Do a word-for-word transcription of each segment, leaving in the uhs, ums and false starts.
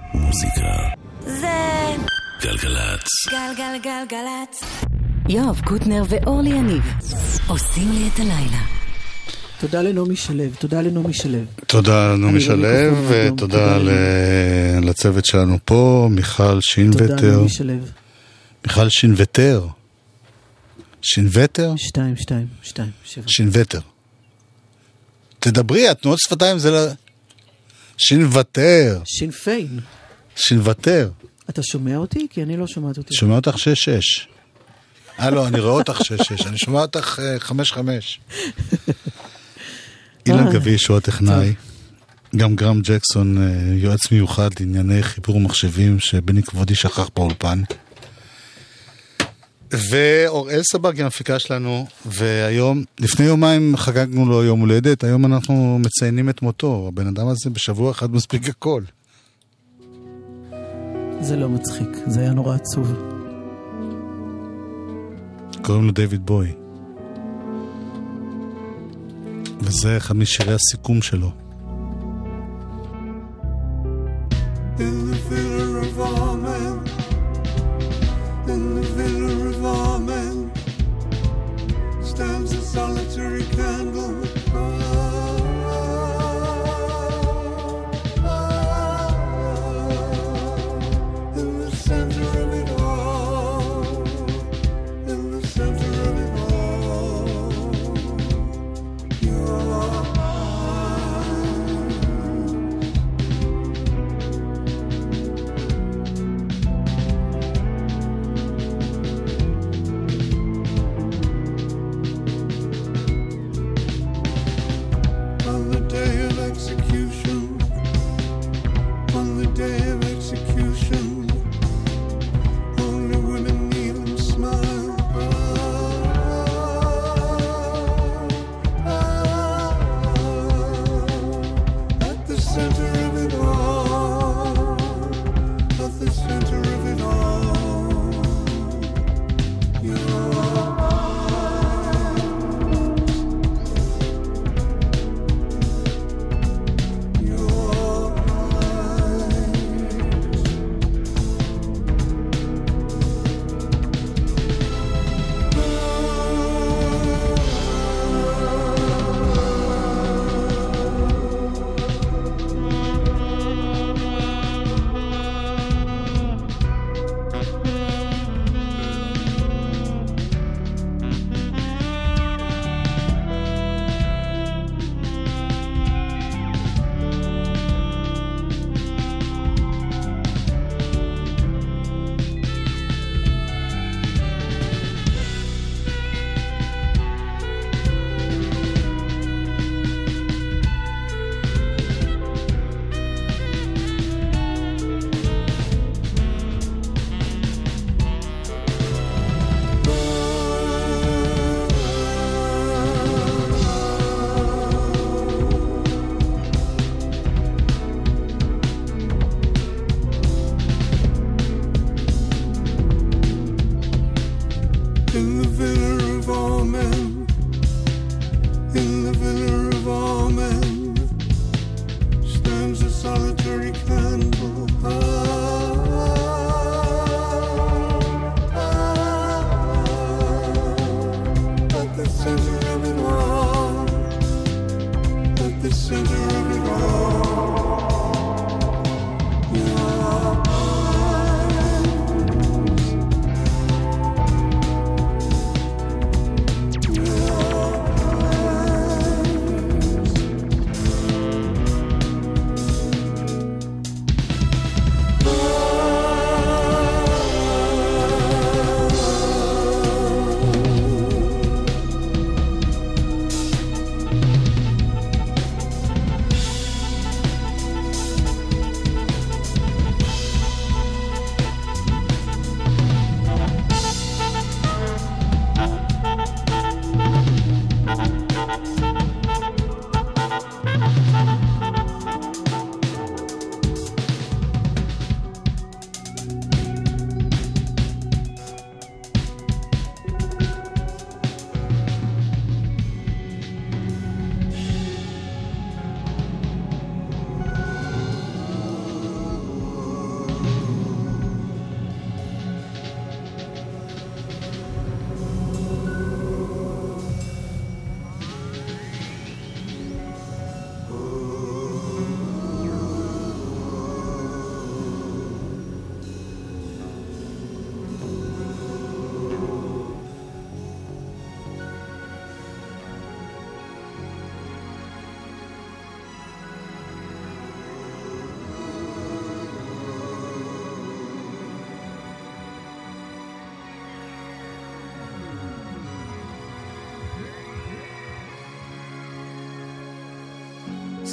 מוזיקה זה גלגלצ. גלגלגלגלצ. יואב קוטנר ואורלי יניב עושים לי את הלילה. תודה לנעמי שלו, תודה לנעמי שלו. תודה לנעמי שלו, ותודה לצוות שלנו פה, מיכל שינווטר. תודה לנעמי שלו. מיכל שינווטר. שינווטר? שתיים, שתיים, שתיים, שבע. שינווטר. תדברי, התנועות שפתיים זה ל... שינווטר. שינפיין. שינווטר. אתה שומע אותי? כי אני לא שומעת אותי. שומע אותך שש שש. אה לא, אני רואה אותך שש שש. אני שומע אותך חמש חמש. אילן גביש הוא הטכנאי. גם גרם ג'קסון, יועץ מיוחד לענייני חיבור מחשבים, שבני כבודי שכח באולפן. ואוראל סבג היא המפיקה שלנו, והיום, לפני יומיים חגגנו לו יום הולדת, היום אנחנו מציינים את מותו. הבן אדם הזה בשבוע אחד מספיק הכל. זה לא מצחיק, זה היה נורא עצוב. קוראים לו דיוויד בוי. וזה אחד משירי הסיכום שלו. In the filler of all men, in the filler of all men, stands a solitary candle.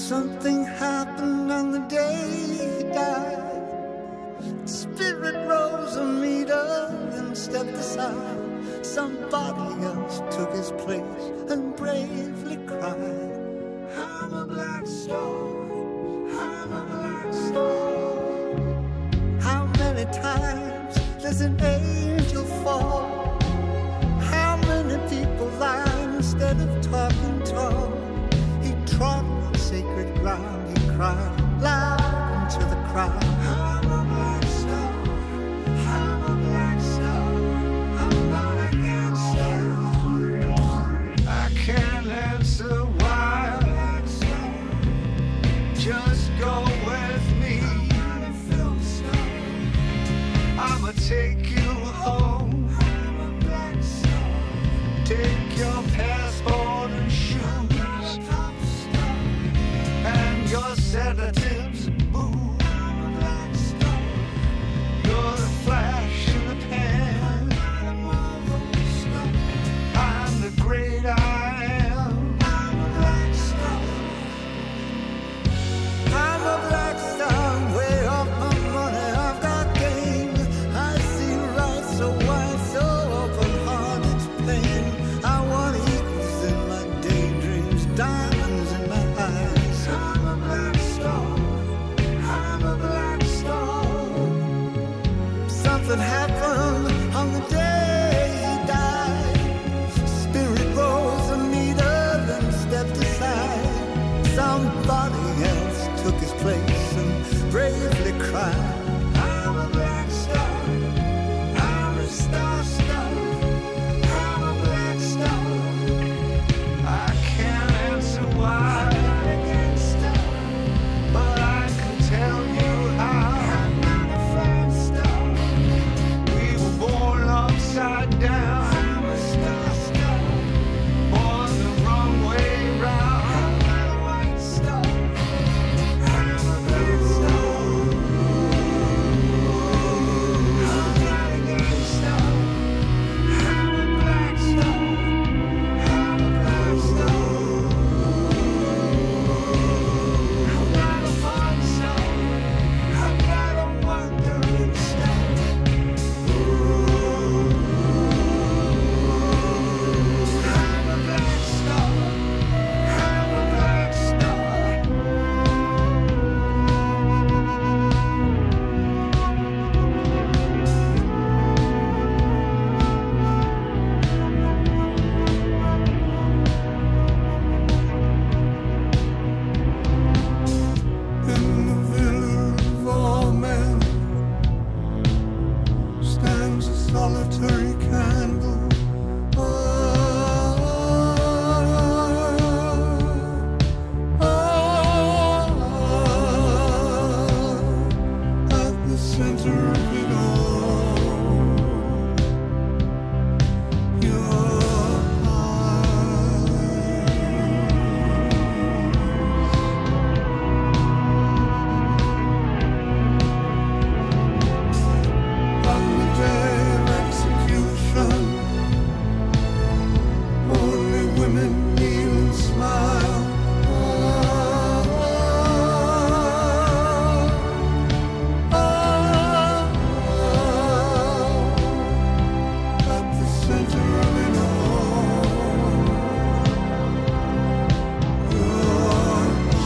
Something happened on the day he died. Spirit rose a meter and stepped aside. Somebody else took his place and bravely cried, I'm a black star, I'm a black star. How many times does an angel fall? How many people lie instead of talking tall? He trod on sacred ground, he cried loud into the crowd, I'm a black star, I'm a black star, I'm not a gangster. I can't answer why, just go with me, I'ma take you home, take your passport and shoes and your sedatives, boo. You're the flash in the pan, I'm the great I am. I'm a black star, way off my money, I've got game. I see right so wide, so open heart, it's pain. I want eagles in my daydreams, diamonds in my eyes. I'm a black star, I'm a black star. Something happened on the day he died. Spirit rose a meter, then stepped aside. Somebody else took his place and bravely cried, I'm a black star, I'm a star star, I'm a black star. I can't answer why, but I can tell you how. I'm not a flying star, we were born upside down, I'm a star star, born the wrong way round. I'm not a white star, I'm a black star, I'm not a gangster. I'm a black star, I'm a black star, I'm not a monster, I'm not a wandering star. I'm a black star, I'm a black star. In the village of all men stands a solitary candle. Ah, ah, at the center of it all, your on the day of execution, only women kneel and smile. Ah, ah, at the center of it all, your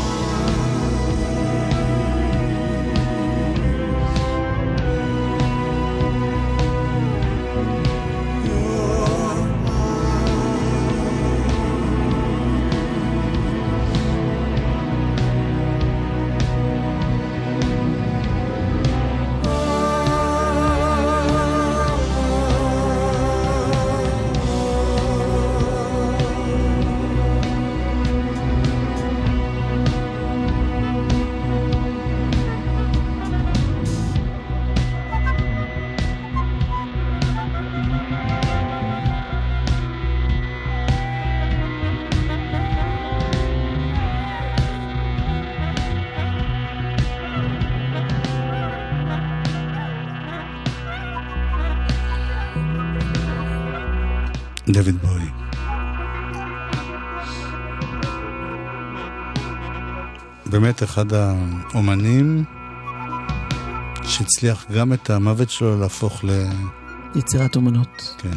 דויד בוי. באמת אחד האומנים שהצליח גם את המוות שלו להפוך ל... יצירת אומנות. כן.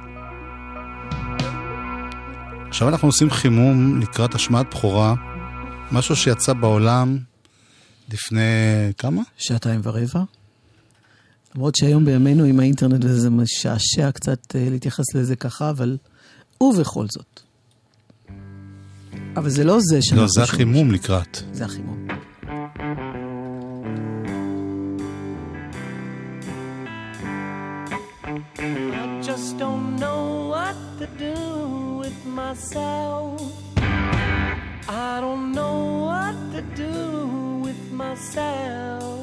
עכשיו אנחנו עושים חימום לקראת השמעת בחורה, משהו שיצא בעולם לפני כמה? שעתיים ורבע. למרות שהיום בימינו עם האינטרנט וזה משעשע קצת להתייחס לזה ככה, אבל ובכל זאת. אבל זה לא זה שאנחנו... לא, זה החימום לקראת. זה החימום. I just don't know what to do with myself. I don't know what to do with myself.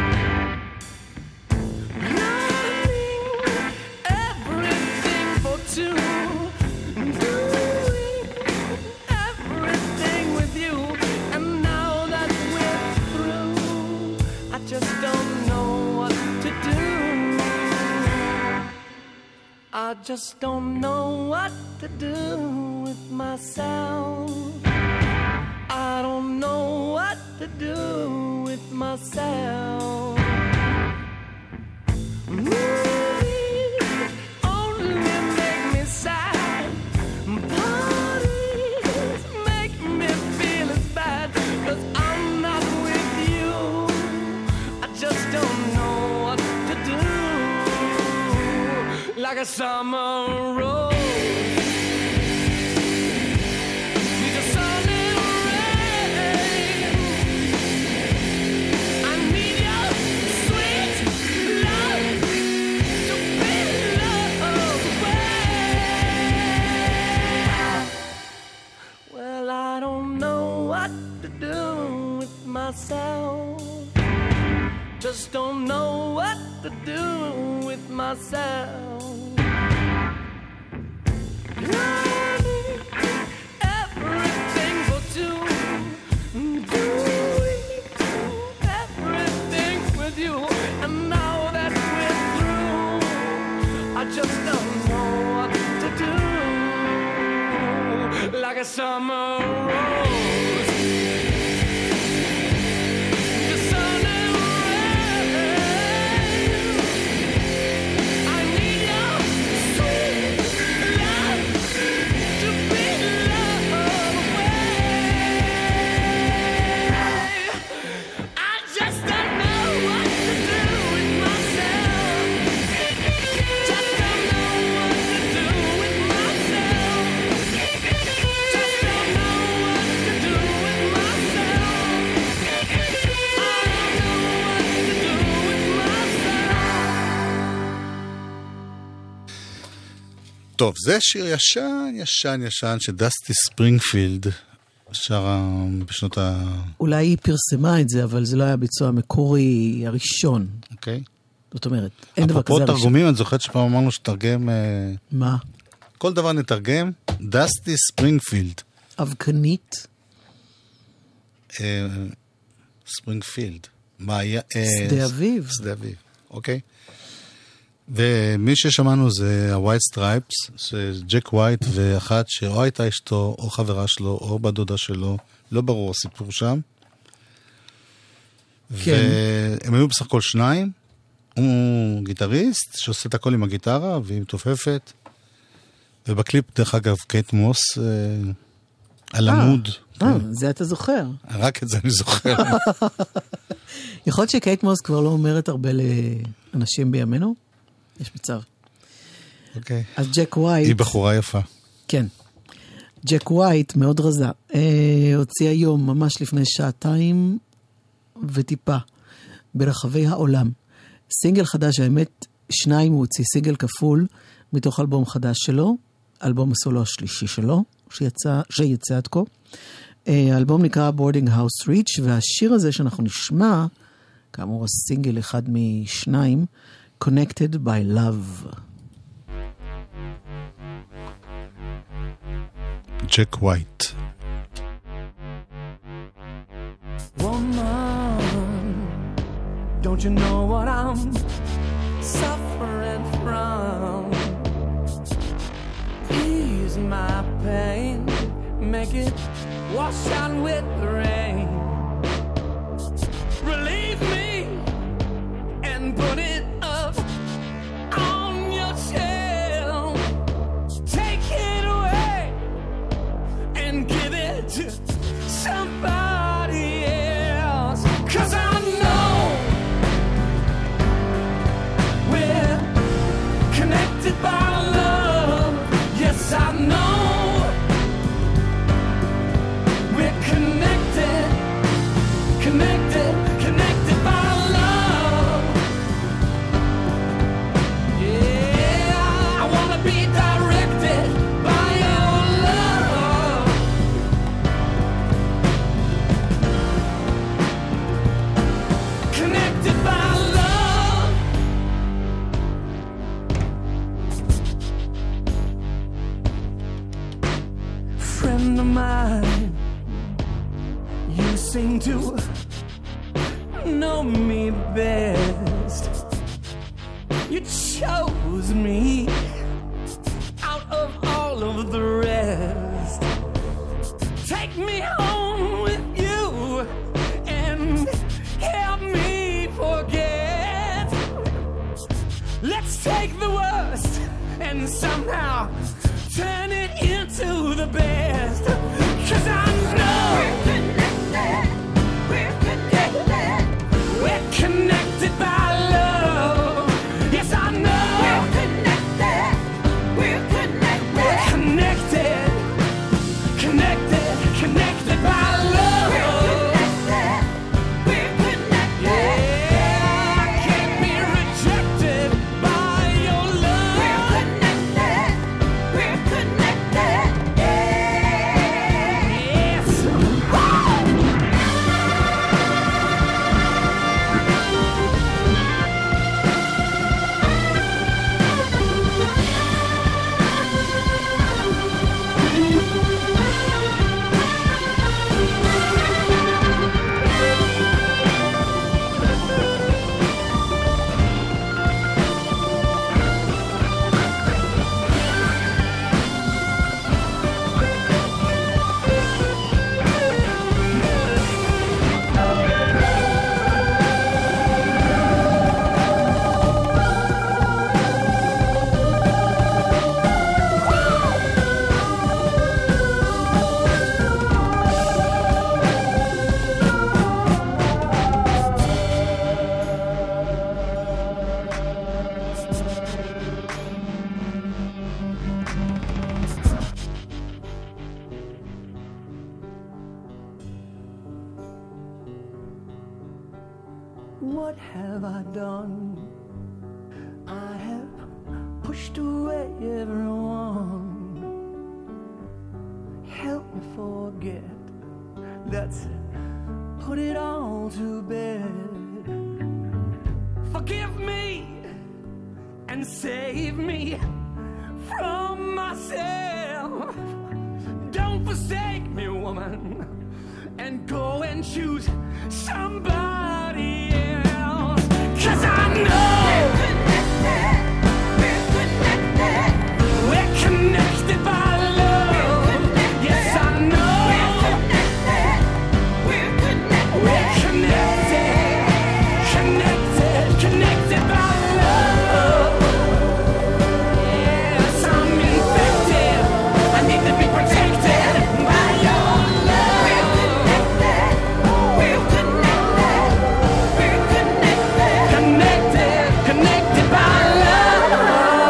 Running everything for two. Doing everything with you. And now that we're through, I just don't know what to do. I just don't know what to do with myself. I don't know what to do with myself. Movies only make me sad. Parties make me feel as bad. 'Cause I'm not with you. I just don't know what to do. Like a summer rose. Myself, just don't know what to do with myself. Running everything for two, doing everything with you, and now that we're through, I just don't know what to do. Like a summer rose. טוב, זה שיר ישן, ישן, ישן, שדסטי ספרינגפילד שרה בשנות ה... אולי היא פרסמה את זה, אבל זה לא היה ביצוע המקורי הראשון. אוקיי. זאת אומרת, אין דבר כזה הראשון. הראשון. אפרופו תרגומים, אני זוכרת שפעם אמרנו שתרגם... מה? כל דבר נתרגם, דסטי ספרינגפילד. אבקנית? ספרינגפילד. מה היה? שדה אביב. שדה אביב, אוקיי. ומי ששמענו זה הווייט סטרייפס, זה ג'ק ווייט ואחת שאו הייתה אשתו או חברה שלו או בדודה שלו, לא ברור הסיפור שם. כן. והם היו בסך הכל שניים, הוא גיטריסט שעושה את הכל עם הגיטרה והיא מתופפת, ובקליפ דרך אגב קייט מוס אה, על עמוד. אה, זה אתה זוכר. רק את זה אני זוכר. יכול להיות שקייט מוס כבר לא אומרת הרבה לאנשים בימינו? יש מצב. אוקיי. אז ג'ק ווייט... היא בחורה יפה. כן. ג'ק ווייט מאוד רזה. אה, הוציא היום, ממש לפני שעתיים וטיפה, ברחבי העולם. סינגל חדש, האמת, שניים הוא הוציא, סינגל כפול, מתוך אלבום חדש שלו, אלבום הסולו השלישי שלו, שיצא, שיצא עד כה. האלבום נקרא Boarding House Reach, והשיר הזה שאנחנו נשמע, כאמור הסינגל אחד משניים, Connected by Love. ג'ק ווייט. Woman, don't you know what I'm suffering from? Ease my pain, make it wash out with the rain. to know me best. You chose me out of all of the rest. Take me home with you and help me forget. Let's take the worst and somehow turn it into the best. 'Cause I know we're connected, we're connected, we're connected by love. Yes, I know we're connected, we're connected, we're connected, connected, connected by love. We're connected, we're connected. Yeah, I can't be rejected by your love. We're connected, we're connected. Yes. What have I done? I have pushed away everyone. Help me forget. Let's put it all to bed. Forgive me and save me from myself. Don't forsake me, woman, and go and choose somebody else. 'Cause I know we're connected, we're connected, we're connected by love. Yes, I know we're connected, we're connected, we're connected, connected, connected by love. Yes, I'm infected. I need to be protected by your love. We're connected, we're connected, we're connected, connected, connected by love.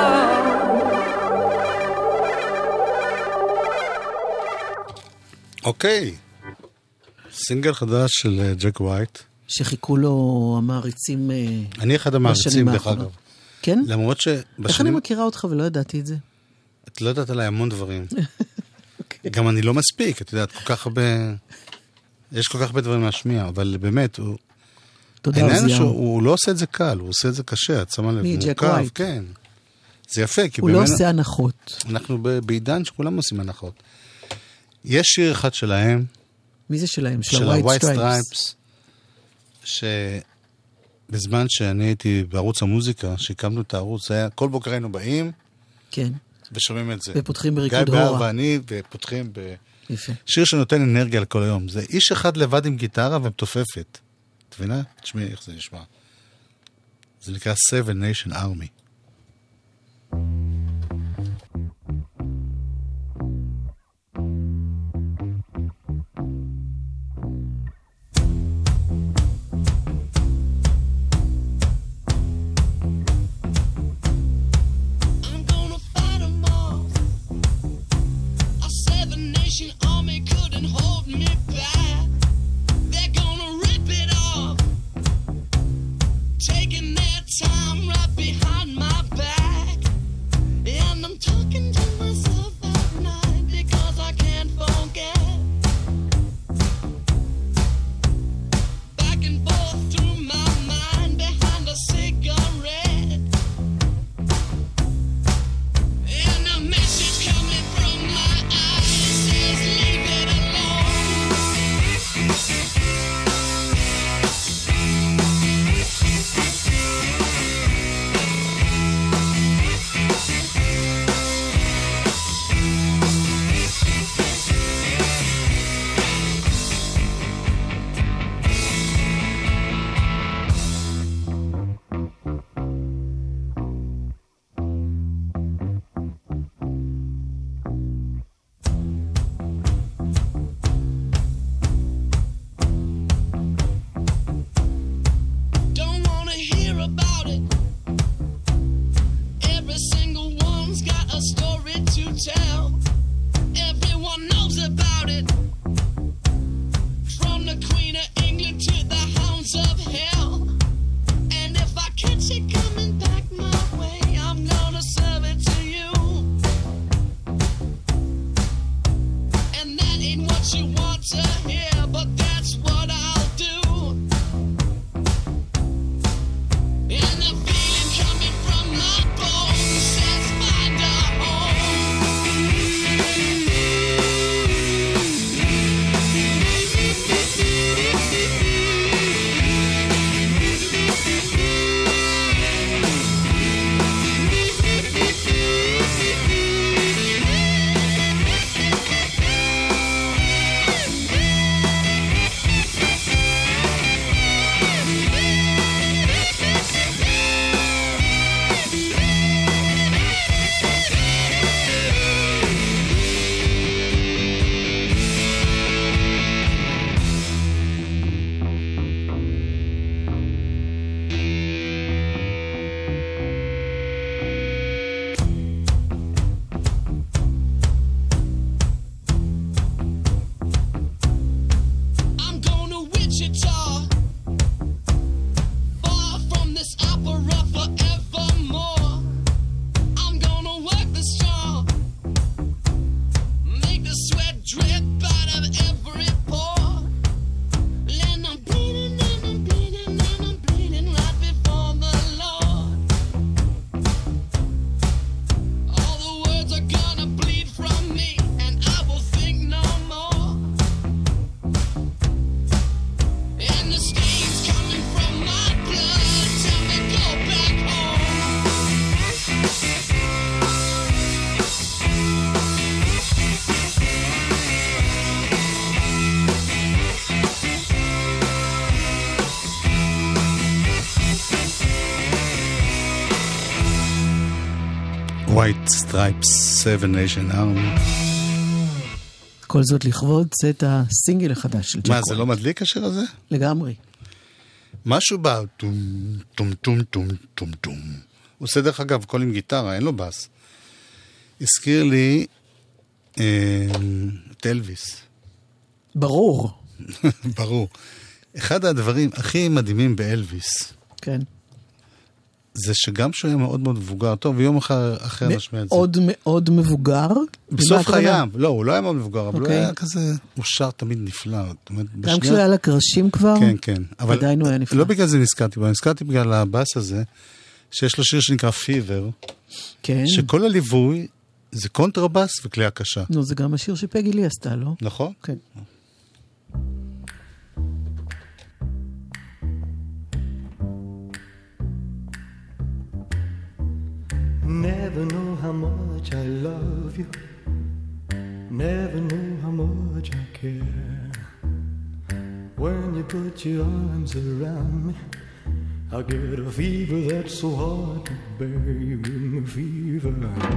אוקיי, סינגל חדש של ג'ק ווייט. שחיכו לו המעריצים. אה, אני אחד המעריצים, בשנים דרך האחרונות. אגב. כן? למרות איך אני שבשנים... מכירה אותך ולא ידעתי את זה? את לא יודעת עליי המון דברים. גם אני לא מספיק, את יודעת, כל כך הרבה... יש כל כך הרבה דברים להשמיע, אבל באמת, הוא... תודה, העניין עוזיהו. שהוא לא עושה את זה קל, הוא עושה את זה קשה, את שמה לב, מי, ג'ק מורכב, ווייט? כן. זה יפה, כי הוא לא באמת... עושה הנחות. אנחנו ב- בעידן שכולם עושים הנחות. יש שיר אחד שלהם, מי זה שלהם? של של ה-White ה-White Stripes. Stripes, שבזמן שאני הייתי בערוץ המוזיקה, שהקמנו את הערוץ, זה היה, כל בוקר היינו באים כן, ושומעים את זה. ופותחים בריקוד גיא בהר הורה. ואני, ופותחים ב... יפה. שיר שנותן אנרגיה לכל היום. זה איש אחד לבד עם גיטרה ומתופפת. את מבינה? תשמעי איך זה נשמע. זה נקרא Seven Nation Army. I'm gonna fight 'em all. A seven nation army couldn't hold me back. They're gonna rip it off, taking their time right behind my White Stripes, Seven Nation Army. כל זאת לכבוד צאת הסינגל החדש של ג'ק ווייט. מה, זה לא מדליק השיר הזה? לגמרי. משהו בא, טום, טום, טום, טום, טום, טום. הוא עושה דרך אגב, כל עם גיטרה, אין לו בס. הזכיר לי אה, את אלוויס. ברור. ברור. אחד הדברים הכי מדהימים באלוויס, כן. זה שגם שהוא היה מאוד מאוד מבוגר, טוב, ויום אחר, אחר נשמע את זה. מאוד מאוד מבוגר. בסוף חייו, לא, הוא לא היה מאוד מבוגר, אבל הוא אוקיי. היה כזה, הוא שר תמיד נפלא. גם כשהוא היה לקרשים כבר, כן, כן. אבל עדיין הוא היה נפלא. לא בגלל זה נזכרתי בו, נזכרתי בגלל הבאס הזה, שיש לו שיר שנקרא פיבר, כן. שכל הליווי זה קונטרבאס וכלי הקשה. נו, זה גם השיר שפגי לי עשתה, לא? נכון? כן. Never know how much I love you. Never know how much I care. When you put your arms around me, I get a fever that's so hard to bear. You give me fever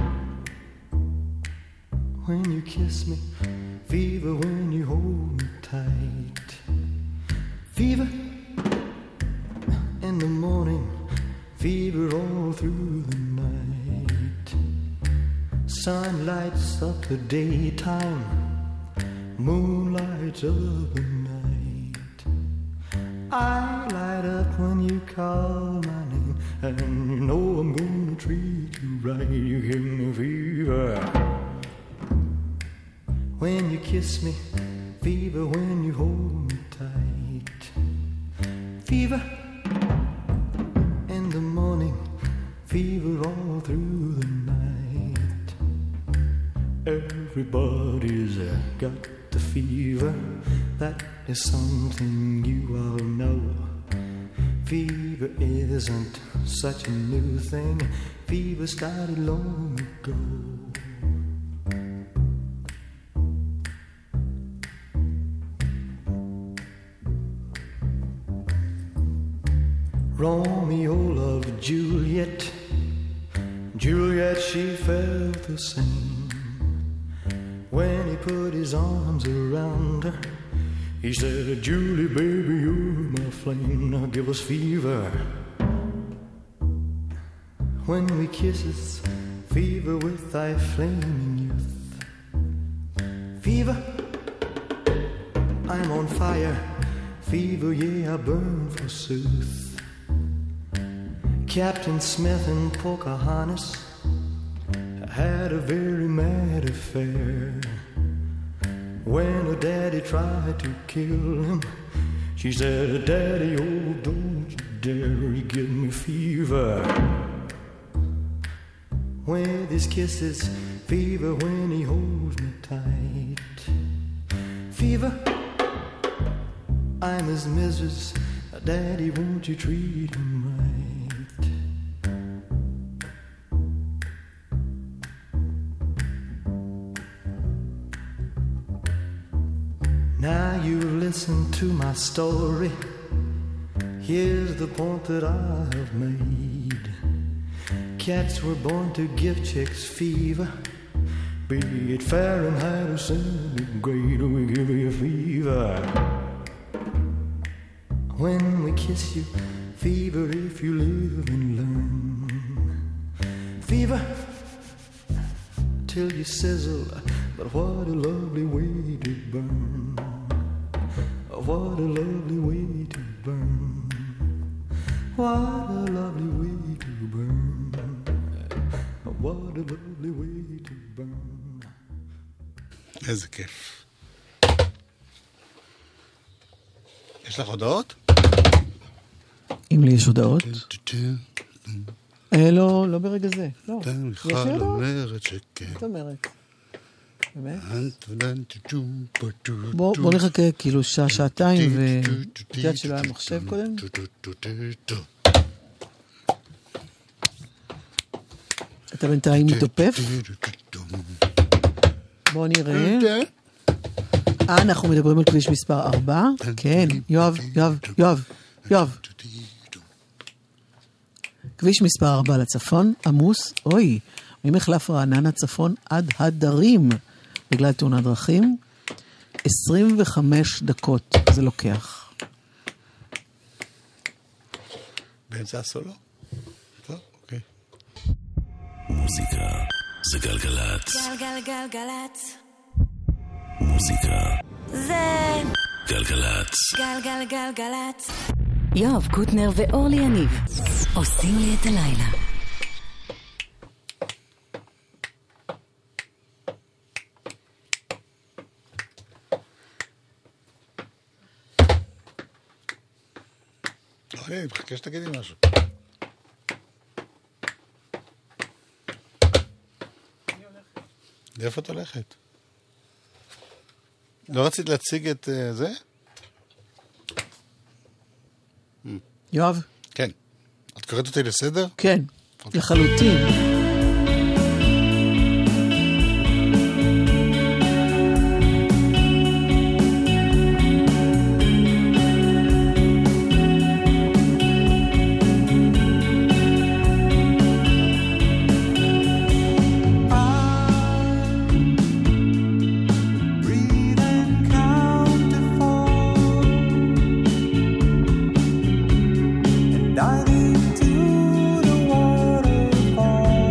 when you kiss me, fever when you hold me tight, fever in the morning, fever all through the night. Sun lights up the daytime, moon lights up the night. I light up when you call my name, and you know I'm gonna treat you right. You give me fever when you kiss me, fever when you hold me tight, fever in the morning, fever all through the night. Everybody's uh, got the fever, that is something you all know. Fever isn't such a new thing, fever started long ago. Romeo loved Juliet, Juliet she felt the same. When he put his arms around her, he said, Julie baby you're my flame, now give us fever. When we kisses, fever with thy flaming youth. Fever, I'm on fire, fever yeah I burn forsooth. Captain Smith and Pocahontas had a very mad affair. When her daddy tried to kill him, she said, Daddy, oh, don't you dare, he give me fever. With his kisses, fever when he holds me tight. Fever, I'm his missus, Daddy, won't you treat him right? Now you listen to my story. Here's the point that I have made. Cats were born to give chicks fever. Be it Fahrenheit or centigrade, we give you fever. When we kiss you, fever if you live and learn. Fever till you sizzle, but what a lovely way to burn. What a lovely way to burn. What a lovely way to burn. What a lovely way to burn. איזה כיף. יש לך הודעות? אם לי יש הודעות? אה, לא, לא ברגע זה. לא. מיכל אומרת שכן. זאת אומרת. בוא, בוא נחכה כאילו שעה, שעתיים, ותיאת שלא היה מחשב קודם. אתה בינתיים מתופף? בוא נראה. אה, אנחנו מדברים על כביש מספר ארבע. כן, יואב, יואב, יואב, יואב. כביש מספר ארבע לצפון, עמוס, אוי, ממחלף רעננה צפון עד הדרים, בגלל תאונת דרכים, עשרים וחמש דקות זה לוקח. באמצע הסולו? טוב, אוקיי. מוזיקה זה גלגלת. גלגלגלגלצ. מוזיקה זה גלגלת. גלגלגלגלצ. יואב קוטנר ואורלי יניב עושים לי את הלילה. אוקיי, אני מחכה שתגידי משהו. לאיפה את הולכת? לא רצית להציג את uh, זה? יואב? כן. את קוראת אותי לסדר? כן, לחלוטין. Diving to the waterfall.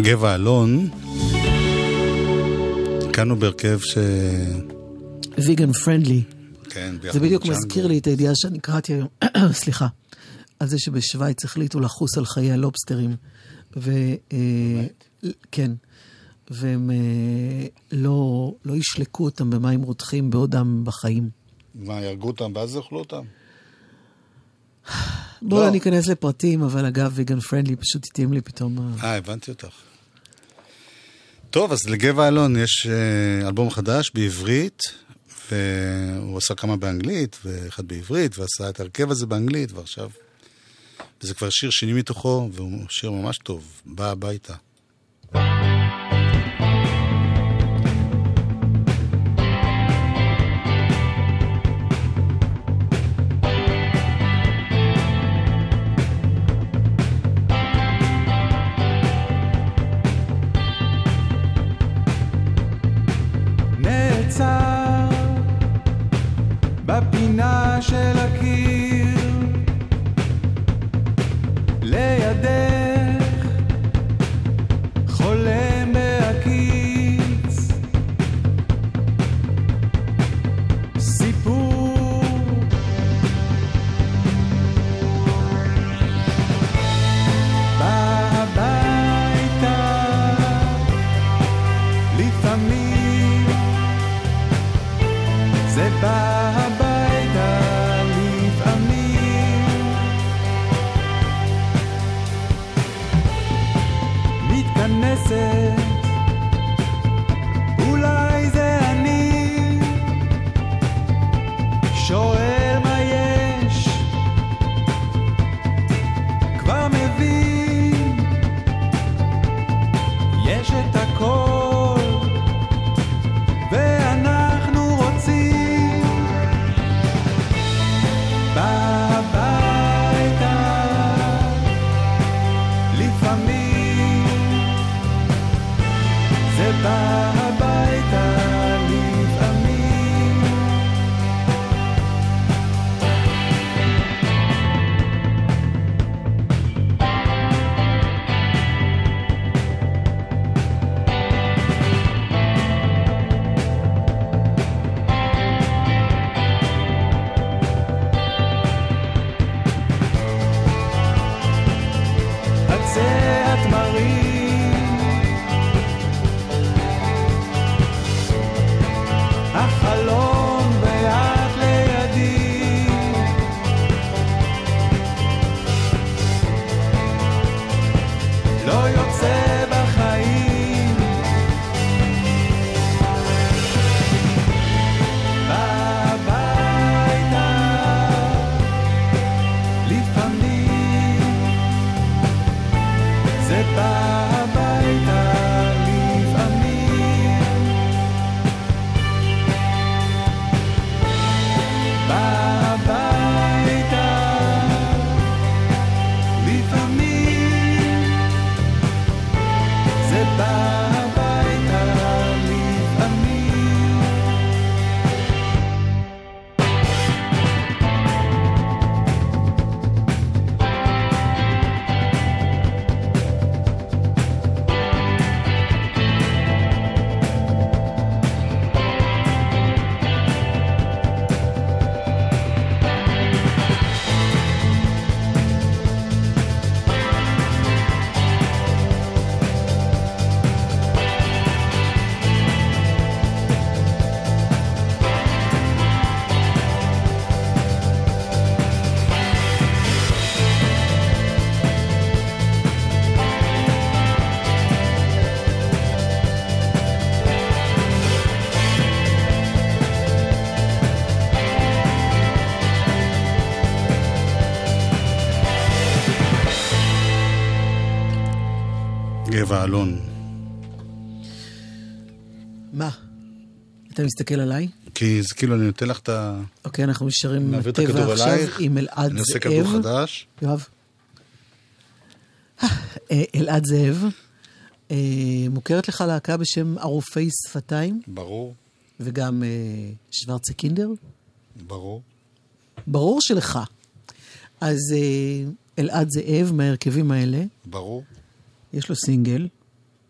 גבע אלון, כאן בהרכב ש... ויגן פרנדלי. כן, זה בדיוק מזכיר לי את הידיעה שאני קראתי היום, סליחה, על זה שבשוויץ החליטו לחוס על חיי הלובסטרים. ו... כן. והם לא, לא ישלקו אותם במים רותחים בעודם בחיים. מה, ירגו אותם ואז יאכלו אותם? בואו לא. לא ניכנס לפרטים, אבל אגב, ויגן פרנדלי פשוט התאים לי פתאום. אה, הבנתי אותך. טוב, אז לגבע אלון יש אלבום חדש בעברית, והוא עשה כמה באנגלית, ואחד בעברית, ועשה את הרכב הזה באנגלית, ועכשיו... וזה כבר שיר שני מתוכו, והוא שיר ממש טוב, בא הביתה. נעצר בפינה של הקיר לידך חולם בהקיץ סיפור בא הביתה לפעמים זה בא הביתה לפעמים מתכנסת אולי זה אני שואל מה יש כבר מבין יש את הכל ואנחנו רוצים בביתה לפעמים זה בא הביתה לפעמים עצי התמרים החלום ואת לידי לא יוצא בחיים בביתה לפעמים זה בא הביתה לפעמים בביתה לפעמים זה בא הביתה לפעמים גבע אלון. מה? אתה מסתכל עליי? כי זה כאילו אני נותן לך את ה... אוקיי, אנחנו נשארים עם נעביר את הטבע הכדור עכשיו אלייך. עם אלעד אני עושה זאב. כדור חדש. יואב. אה, אלעד זאב, אה, מוכרת לך להקה בשם ערופי שפתיים, ברור, וגם אה, שוורצה קינדר? ברור. ברור שלך. אז אה, אלעד זאב מהרכבים האלה, ברור. יש לו סינגל,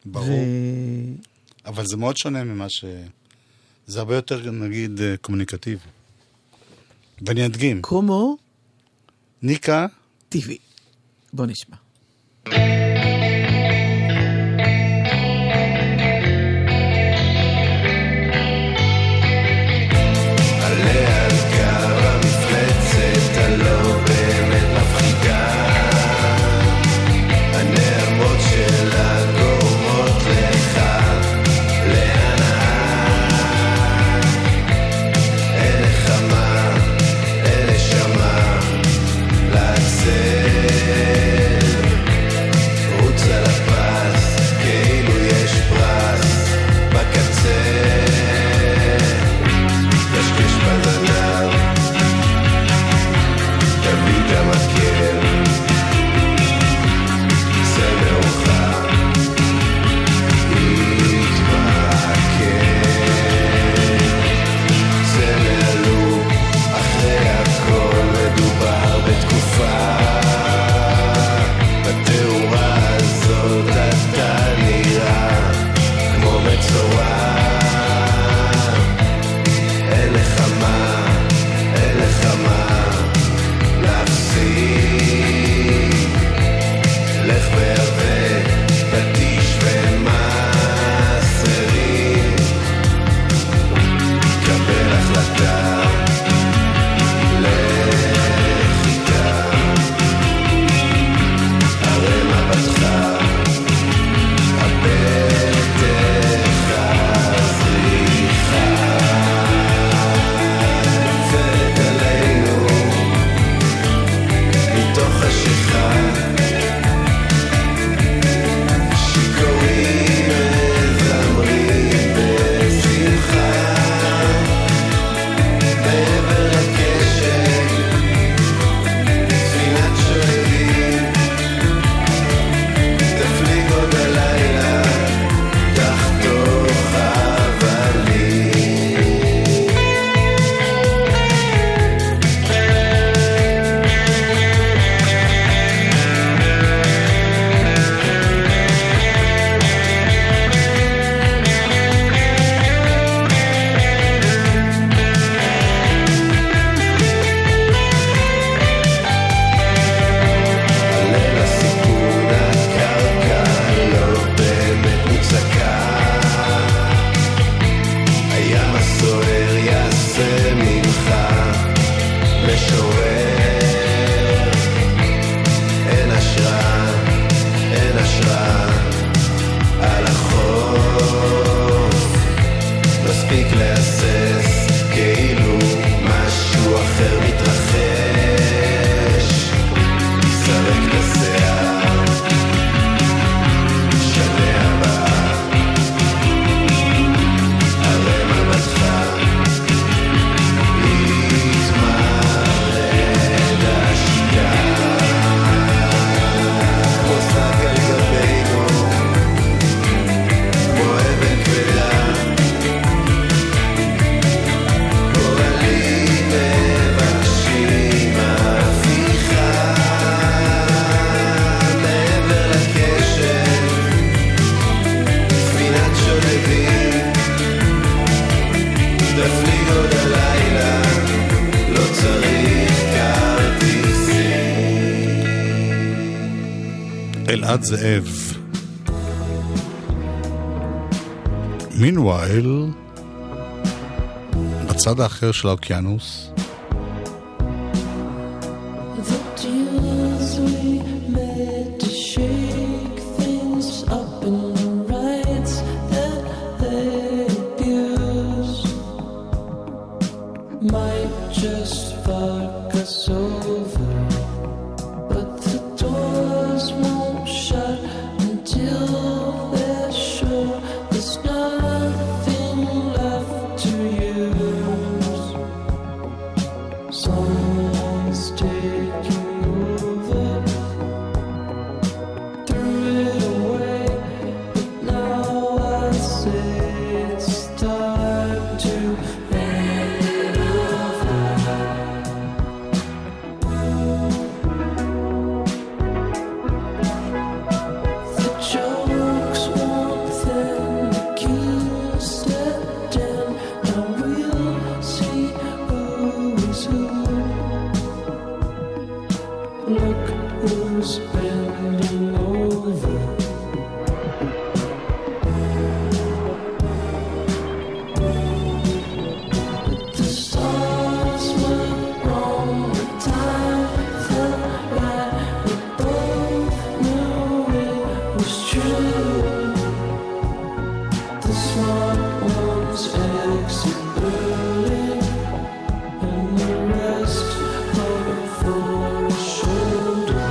ברור. אבל זה מאוד שונה ממה ש... זה הרבה יותר, נגיד, קומוניקטיבי. ואני אדגים. כמו? ניקה. טבעי. בוא נשמע. עליה על קו המפלצת הלא באמת מפחידה, הנעמות שלה גורמות לך להנאה, אין נחמה, אין נשמה לעצל, רוץ על הפס כאילו יש פרס בקצה, קשקש בזנב, תביא את המקל, זה מאוחר, יתמקל, זה מעלו, אחרי הכל מדובר בתקופה, בתאורה הזאת אתה נראה כמו מצורע, אין לך מה, אין לך מה להפסיק, לך והווה, פטיש ומסרים, קבל החלטה, לך איתה, הרי מבטך, הבטח הזריחה, נופלת עלינו מתוך חשיכה, שיכורים מזמרים בשמחה, מעבר לקשת ספינת שואלים, תפליג עוד הלילה תחתוך אבנים. עלה לסיכון הקרקע לא באמת מוצקה, הים הסוער יעשה ממך משורר, אין השראה, אין השראה על החוף, מספיק להסס כאילו משהו אחר מתרחש, סרק לשיער, שנה הבאה, הרי מבטך, יתמרד השקעה, כמו שק על גבינו, כמו אבן כבדה, גורלים מבקשים הפיכה, מעבר לקשת ספינת שולבים, תפליג עוד הלילה, לא צריך כרטיסים. אלעד זאב. מינווייל, בצד האחר של האוקיינוס, The deals we made to shake things up in the rights that they abuse might just fuck us over, but the doors won't shut until they're sure there's nothing left to use. Someone's taking over, threw it away Look who's bending over. The stars went wrong, the time felt right. We both knew it was true. The smart ones exit early, and the rest hope for a shoulder.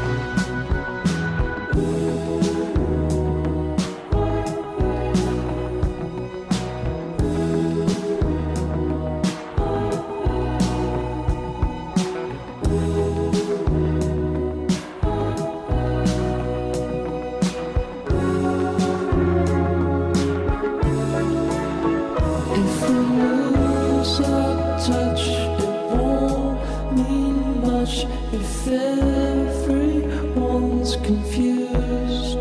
If we lose our touch, it won't mean much. If everyone's confused,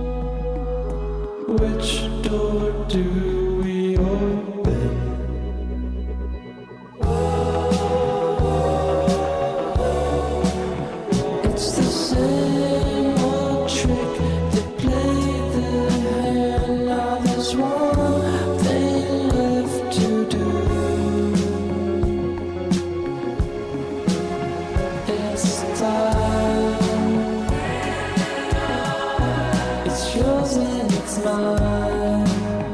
which door do we open? It's the same old trick. They play the hand. Now there's one thing left to do. It's time. It's yours and it's mine.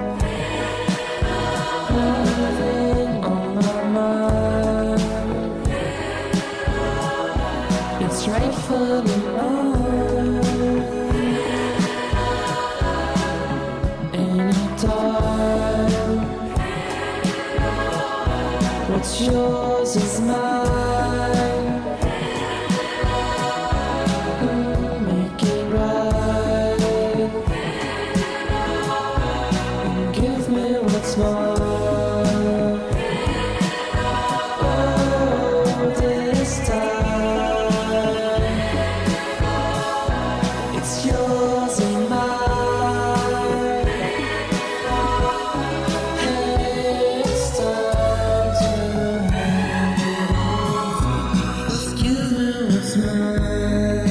Nothing on my mind. It's rightfully mine. Anytime. What's yours is mine. Mm, Make it right. And give me what's mine. Oh, this time. It's yours and mine. Hey, it's time to hand it over. Just give me what's mine.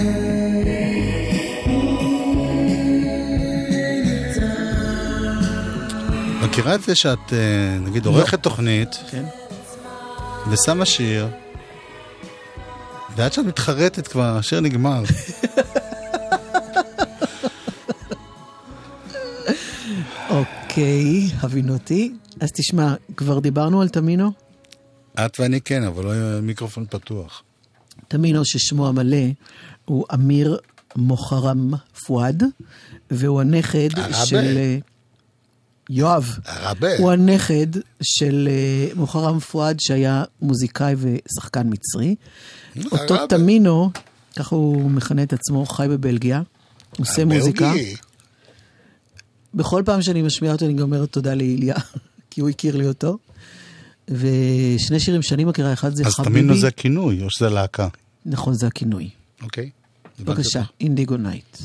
Anytime. מכירה את זה שאת, אה, נגיד, עורכת תוכנית, כן. ושמה שיר, ועד שאת מתחרטת כבר, השיר נגמר. אוקיי, הבינותי. אז תשמע, כבר דיברנו על תמינו? את ואני כן, אבל לא היה מיקרופון פתוח. תמינו ששמו המלא הוא אמיר מוחרם פואד, והוא הנכד הרבה. של... אה, יואב. הרבה. הוא הנכד של אה, מוחרם פואד, שהיה מוזיקאי ושחקן מצרי. אותו הרבה. תמינו, ככה הוא מכנה את עצמו, חי בבלגיה, עושה מוזיקה. הבלגי. בכל פעם שאני משמיעה אותו, אני גם אומרת תודה לאיליה, כי הוא הכיר לי אותו. ושני שירים שאני מכירה, אחד זה אז חביבי. תמינו זה הכינוי, או שזה להקה. נכון, זה הכינוי. אוקיי. בבקשה, אינדיגו נייט.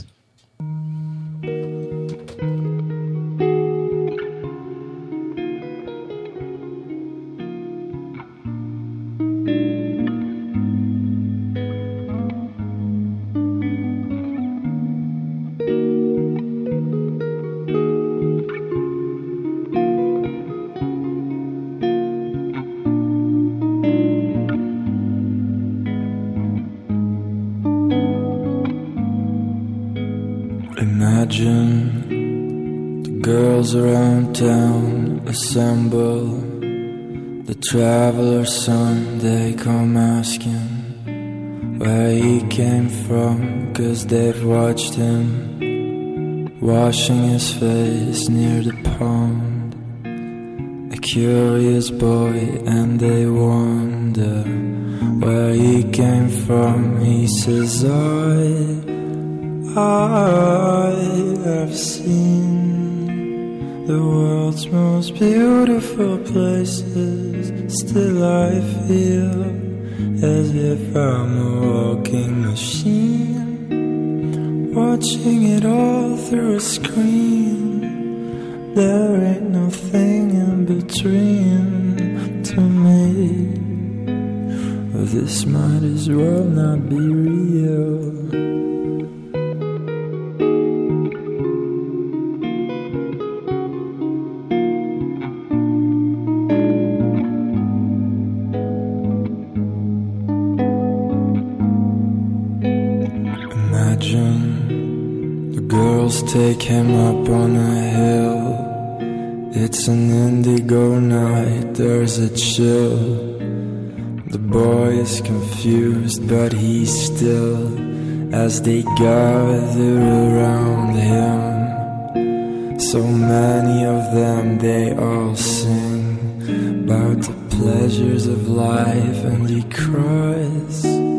Imagine the girls around town assemble. The traveler's son, they come asking where he came from, 'cause they've watched him washing his face near the pond. A curious boy, and they wonder where he came from. He says, I I have seen the world's most beautiful places. Still I feel as if I'm a walking machine, watching it all through a screen. There ain't nothing in between to me. this might as well not be real. Imagine the girls take him up on a hill. It's an indigo night, there's a chill. The boy is confused, but he's still. As they gather around him, so many of them, they all sing about the pleasures of life, and he cries,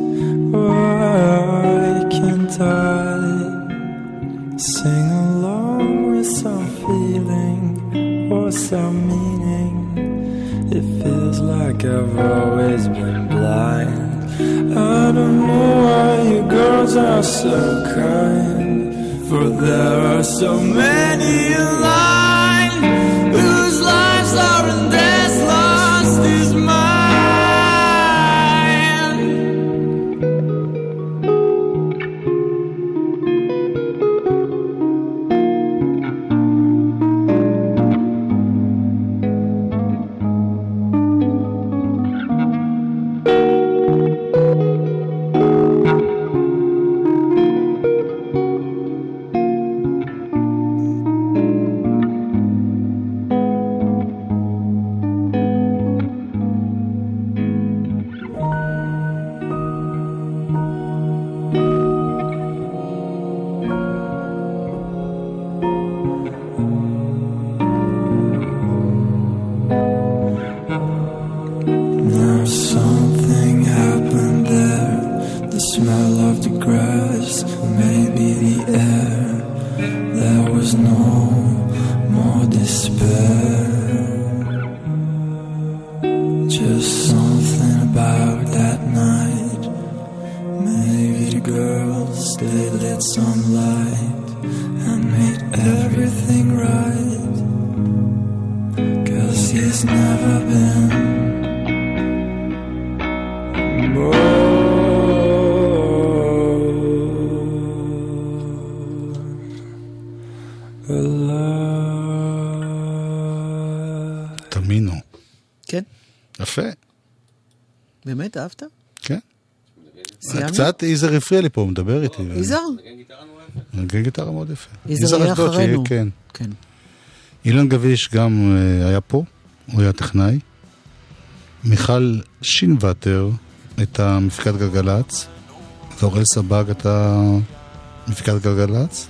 why can't I sing along with some feeling or some meaning? It feels like I've always been blind. I don't know why you girls are so kind, for there are so many in line whose lives are in this lost is mine. תמינו. כן. יפה. באמת, אהבת? כן. סיימנו? קצת איזר הפריע לי פה, הוא מדבר איתי. איזר? נגן גיטרה מאוד יפה. איזר היה אחרינו. כן. כן. אילן גביש גם היה פה, הוא היה טכנאי. מיכל שינוואטר הייתה מפיקת גלגלץ, ואורל סבג הייתה מפיקת גלגלץ.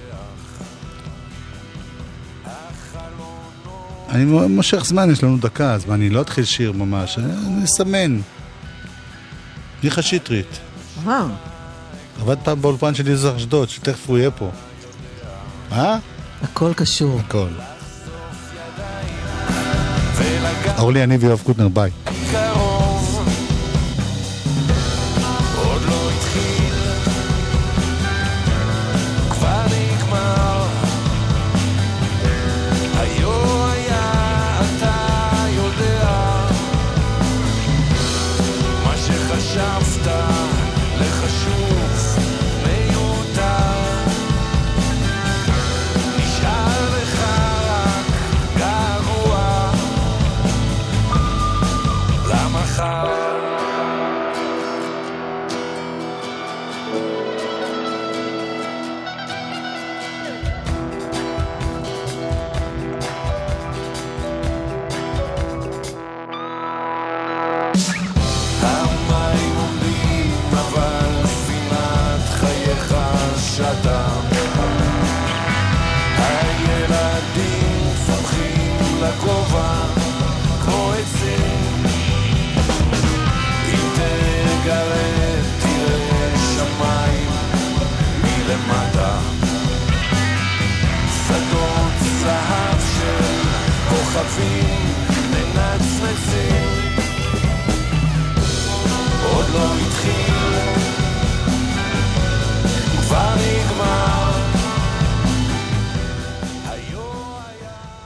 אני מושך זמן, יש לנו דקה, אז אני לא אתחיל שיר ממש, אני אסמן. מיכה שטרית. אה. עבד פעם באולפן של יזר אשדוד, שתכף הוא יהיה פה. אה? הכל קשור. הכל. אורלי יניב ויואב קוטנר, ביי. Free